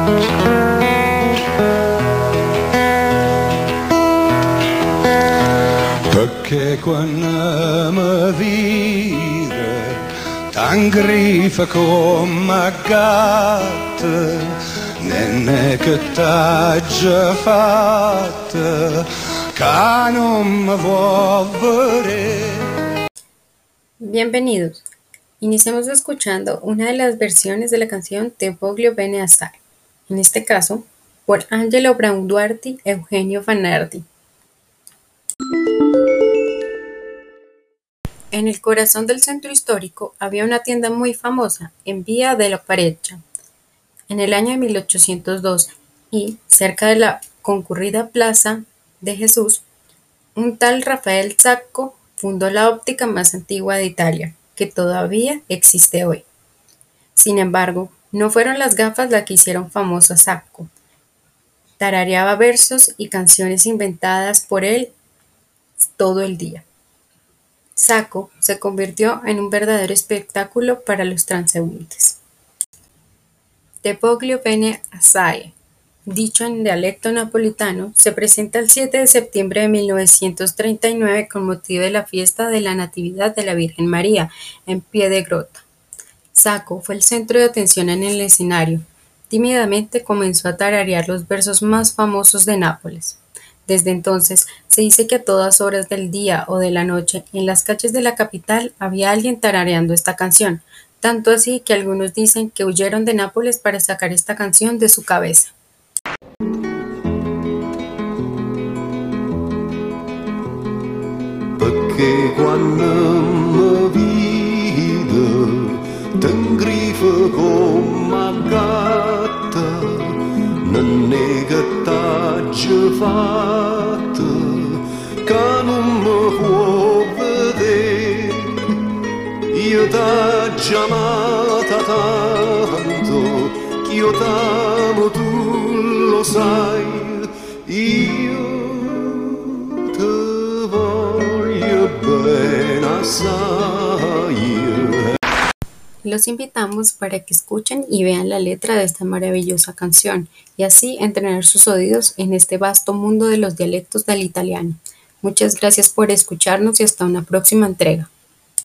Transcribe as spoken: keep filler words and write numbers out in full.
Perché quando mi vide tan grifa come gatta, nenne che t'ha già fatta, che non mi vuol vedere. Bienvenidos. Iniciamos escuchando una de las versiones de la canción Te voglio bene assai, en este caso por Angelo Braunduarti y Eugenio Fanardi. En el corazón del centro histórico había una tienda muy famosa en Vía della Parecchia, en el año de mil ochocientos doce, y cerca de la concurrida Plaza de Jesús, un tal Rafael Sacco fundó la óptica más antigua de Italia, que todavía existe hoy. Sin embargo, no fueron las gafas las que hicieron famoso a Sacco. Tarareaba versos y canciones inventadas por él todo el día. Sacco se convirtió en un verdadero espectáculo para los transeúntes. Te voglio bene assai, dicho en dialecto napolitano, se presenta el siete de septiembre de mil novecientos treinta y nueve con motivo de la fiesta de la Natividad de la Virgen María en Piedigrotta. Sacco fue el centro de atención en el escenario. Tímidamente comenzó a tararear los versos más famosos de Nápoles. Desde entonces, se dice que a todas horas del día o de la noche, en las calles de la capital había alguien tarareando esta canción, tanto así que algunos dicen que huyeron de Nápoles para sacar esta canción de su cabeza. Perché quando mi vide tan grifa come gatta, non è che t'ha già fatta, che non mi può vedere. Io t'ho già amata tanto, che io t'amo, tu lo sai. Io te voglio bene assai. Los invitamos para que escuchen y vean la letra de esta maravillosa canción y así entrenar sus oídos en este vasto mundo de los dialectos del italiano. Muchas gracias por escucharnos y hasta una próxima entrega.